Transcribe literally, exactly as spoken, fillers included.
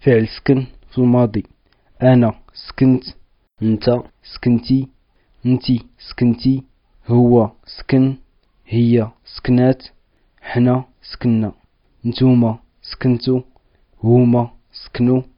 فعل سكن في الماضي. أنا سكنت، أنت سكنتي، أنتي سكنتي، هو سكن، هي سكنات، حنا سكننا، نتوما سكنتو، هما سكنو.